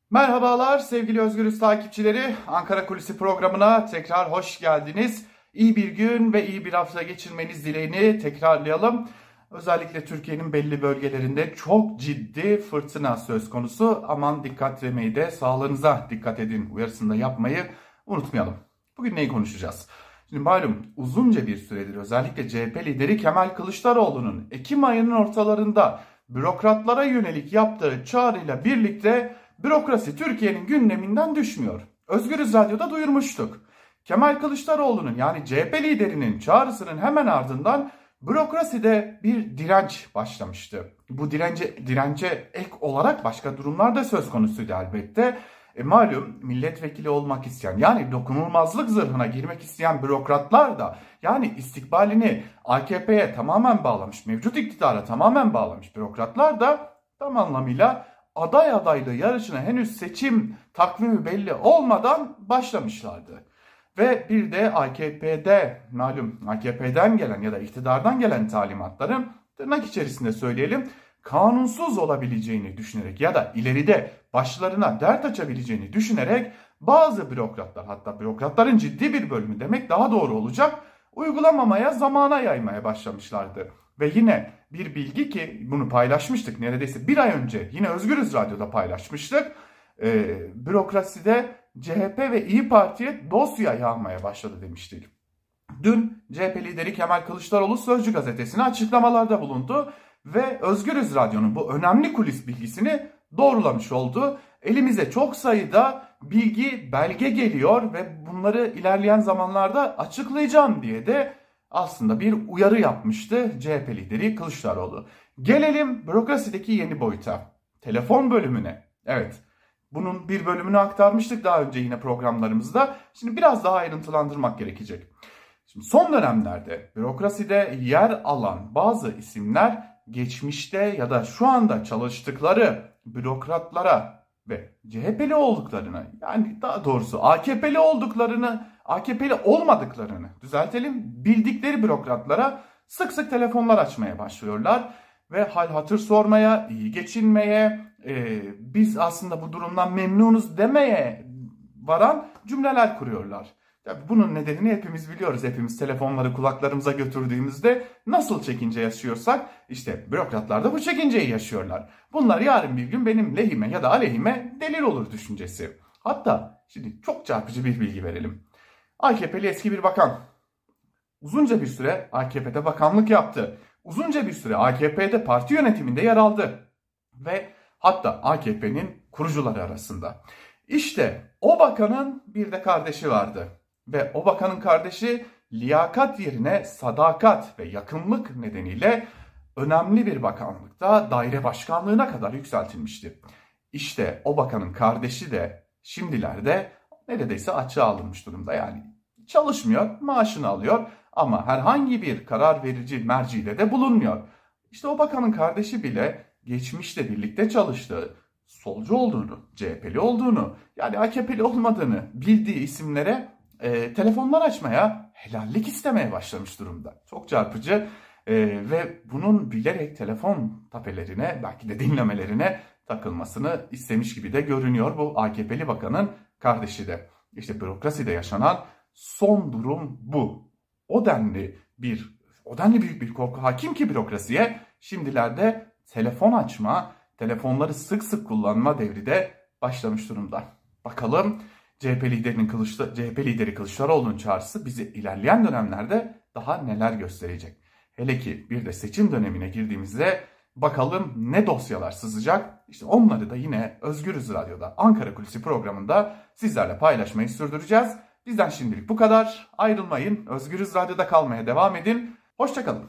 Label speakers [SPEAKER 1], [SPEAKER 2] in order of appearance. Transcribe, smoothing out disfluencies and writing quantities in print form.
[SPEAKER 1] Merhabalar sevgili Özgürüz takipçileri. Ankara Kulisi programına tekrar hoş geldiniz. İyi bir gün ve iyi bir hafta geçirmeniz dileğini tekrarlayalım. Özellikle Türkiye'nin belli bölgelerinde çok ciddi fırtına söz konusu. Aman dikkat vermeyi de sağlığınıza dikkat edin uyarısını da yapmayı unutmayalım. Bugün neyi konuşacağız? Şimdi malum uzunca bir süredir özellikle CHP lideri Kemal Kılıçdaroğlu'nun Ekim ayının ortalarında bürokratlara yönelik yaptığı çağrıyla birlikte bürokrasi Türkiye'nin gündeminden düşmüyor. Özgürüz Radyo'da duyurmuştuk. Kemal Kılıçdaroğlu'nun yani CHP liderinin çağrısının hemen ardından bürokraside bir direnç başlamıştı. Bu dirence ek olarak başka durumlar da söz konusuydu elbette. Malum milletvekili olmak isteyen yani dokunulmazlık zırhına girmek isteyen bürokratlar da yani istikbalini AKP'ye tamamen bağlamış, mevcut iktidara tamamen bağlamış bürokratlar da tam anlamıyla aday adaylığı yarışına henüz seçim takvimi belli olmadan başlamışlardı. Ve bir de AKP'de malum AKP'den gelen ya da iktidardan gelen talimatların tırnak içerisinde söyleyelim kanunsuz olabileceğini düşünerek ya da ileride başlarına dert açabileceğini düşünerek bazı bürokratlar hatta bürokratların ciddi bir bölümü demek daha doğru olacak uygulamamaya zamana yaymaya başlamışlardı. Ve yine bir bilgi ki bunu paylaşmıştık neredeyse bir ay önce yine Özgürüz Radyo'da paylaşmıştık. Bürokraside CHP ve İyi Parti'ye dosya yağmaya başladı demiştik. Dün CHP lideri Kemal Kılıçdaroğlu Sözcü gazetesine açıklamalarda bulundu ve Özgürüz Radyo'nun bu önemli kulis bilgisini doğrulamış oldu. Elimize çok sayıda bilgi, belge geliyor ve bunları ilerleyen zamanlarda açıklayacağım diye de aslında bir uyarı yapmıştı CHP lideri Kılıçdaroğlu. Gelelim bürokrasideki yeni boyuta. Telefon bölümüne. Evet. Bunun bir bölümünü aktarmıştık daha önce yine programlarımızda. Şimdi biraz daha ayrıntılandırmak gerekecek. Şimdi son dönemlerde bürokraside yer alan bazı isimler geçmişte ya da şu anda çalıştıkları bürokratlara ve CHP'li olduklarını yani daha doğrusu AKP'li olmadıklarını düzeltelim bildikleri bürokratlara sık sık telefonlar açmaya başlıyorlar ve hal hatır sormaya, iyi geçinmeye, biz aslında bu durumdan memnunuz demeye varan cümleler kuruyorlar. Tabii bunun nedenini hepimiz biliyoruz. Hepimiz telefonları kulaklarımıza götürdüğümüzde nasıl çekince yaşıyorsak işte bürokratlar da bu çekinceyi yaşıyorlar. Bunlar yarın bir gün benim lehime ya da aleyhime delil olur düşüncesi. Hatta şimdi çok çarpıcı bir bilgi verelim. AKP'li eski bir bakan uzunca bir süre AKP'de bakanlık yaptı. Uzunca bir süre AKP'de parti yönetiminde yer aldı. Ve hatta AKP'nin kurucuları arasında. İşte o bakanın bir de kardeşi vardı. Ve o bakanın kardeşi liyakat yerine sadakat ve yakınlık nedeniyle önemli bir bakanlıkta daire başkanlığına kadar yükseltilmişti. İşte o bakanın kardeşi de şimdilerde neredeyse açığa alınmış durumda. Yani çalışmıyor, maaşını alıyor ama herhangi bir karar verici mercide de bulunmuyor. İşte o bakanın kardeşi bile geçmişte birlikte çalıştığı, solcu olduğunu, CHP'li olduğunu, yani AKP'li olmadığını bildiği isimlere telefonlar açmaya, helallik istemeye başlamış durumda. Çok çarpıcı ve bunun bilerek telefon tapelerine, belki de dinlemelerine takılmasını istemiş gibi de görünüyor bu AKP'li bakanın kardeşi de. İşte bürokraside yaşanan son durum bu. O denli büyük bir korku hakim ki bürokrasiye şimdilerde telefon açma, telefonları sık sık kullanma devri de başlamış durumda. Bakalım CHP lideri Kılıçdaroğlu'nun çağrısı bizi ilerleyen dönemlerde daha neler gösterecek. Hele ki bir de seçim dönemine girdiğimizde bakalım ne dosyalar sızacak. İşte onları da yine Özgürüz Radyo'da Ankara Kulisi programında sizlerle paylaşmayı sürdüreceğiz. Bizden şimdilik bu kadar. Ayrılmayın. Özgürüz Radyo'da kalmaya devam edin. Hoşça kalın.